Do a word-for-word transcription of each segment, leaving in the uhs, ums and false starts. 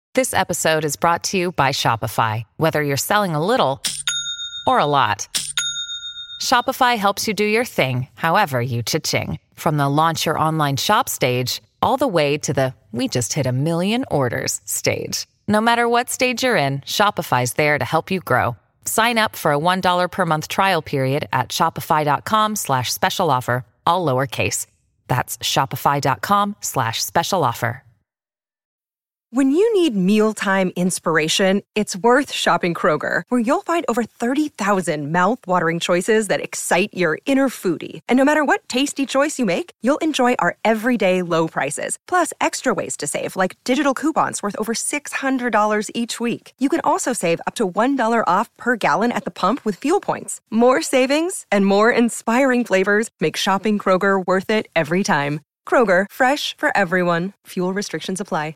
This episode is brought to you by Shopify. Whether you're selling a little or a lot, Shopify helps you do your thing, however you cha-ching. From the launch your online shop stage, all the way to the we just hit a million orders stage. No matter what stage you're in, Shopify's there to help you grow. Sign up for a one dollar per month trial period at shopify.com slash special offer, all lowercase. That's shopify.com slash special offer. When you need mealtime inspiration, it's worth shopping Kroger, where you'll find over thirty thousand mouth-watering choices that excite your inner foodie. And no matter what tasty choice you make, you'll enjoy our everyday low prices, plus extra ways to save, like digital coupons worth over six hundred dollars each week. You can also save up to one dollar off per gallon at the pump with fuel points. More savings and more inspiring flavors make shopping Kroger worth it every time. Kroger, fresh for everyone. Fuel restrictions apply.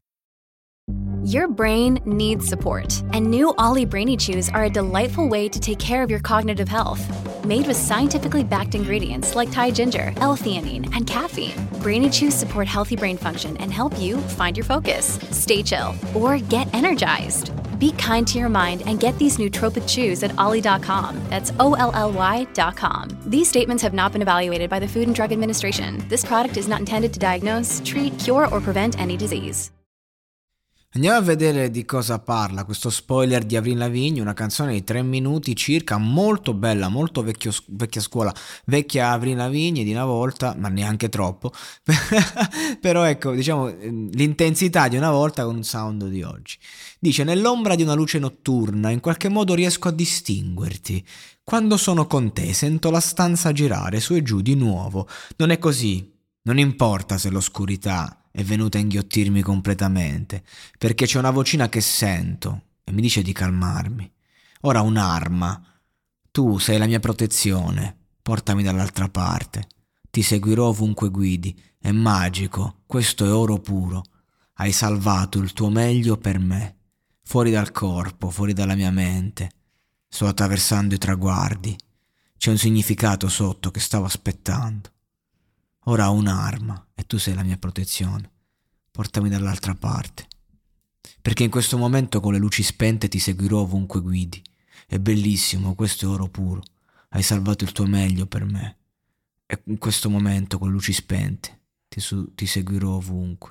Your brain needs support, and new Ollie Brainy Chews are a delightful way to take care of your cognitive health. Made with scientifically backed ingredients like Thai ginger, L-theanine, and caffeine, Brainy Chews support healthy brain function and help you find your focus, stay chill, or get energized. Be kind to your mind and get these nootropic chews at ollie dot com. That's O L L Y dot com. These statements have not been evaluated by the Food and Drug Administration. This product is not intended to diagnose, treat, cure, or prevent any disease. Andiamo a vedere di cosa parla questo spoiler di Avril Lavigne, una canzone di tre minuti circa, molto bella, molto vecchio, vecchia scuola, vecchia Avril Lavigne di una volta, ma neanche troppo, però ecco, diciamo, l'intensità di una volta con un sound di oggi. Dice: nell'ombra di una luce notturna in qualche modo riesco a distinguerti. Quando sono con te sento la stanza girare su e giù di nuovo. Non è così, non importa se l'oscurità è venuta a inghiottirmi completamente, perché c'è una vocina che sento e mi dice di calmarmi. Ora un'arma. Tu sei la mia protezione, portami dall'altra parte. Ti seguirò ovunque guidi. È magico, questo è oro puro. Hai salvato il tuo meglio per me. Fuori dal corpo, fuori dalla mia mente. Sto attraversando i traguardi. C'è un significato sotto che stavo aspettando. Ora ho un'arma e tu sei la mia protezione. Portami dall'altra parte. Perché in questo momento con le luci spente ti seguirò ovunque guidi. È bellissimo, questo è oro puro. Hai salvato il tuo meglio per me. E in questo momento con le luci spente ti, su- ti seguirò ovunque.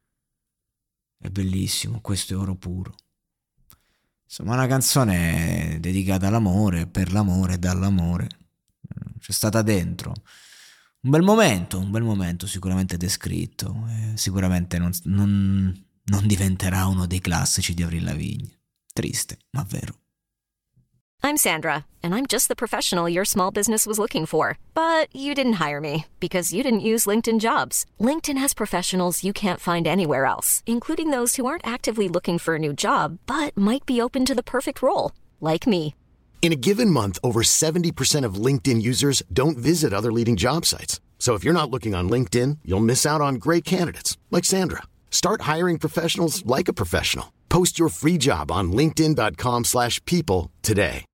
È bellissimo, questo è oro puro. Insomma, una canzone dedicata all'amore, per l'amore e dall'amore. C'è stata dentro un bel momento, un bel momento sicuramente descritto, eh, sicuramente non, non, non diventerà uno dei classici di Avril Lavigne. Triste, ma vero. I'm Sandra, and I'm just the professional your small business was looking for. But you didn't hire me, because you didn't use LinkedIn Jobs. LinkedIn has professionals you can't find anywhere else, including those who aren't actively looking for a new job, but might be open to the perfect role, like me. In a given month, over seventy percent of LinkedIn users don't visit other leading job sites. So if you're not looking on LinkedIn, you'll miss out on great candidates like Sandra. Start hiring professionals like a professional. Post your free job on linkedin dot com slash people today.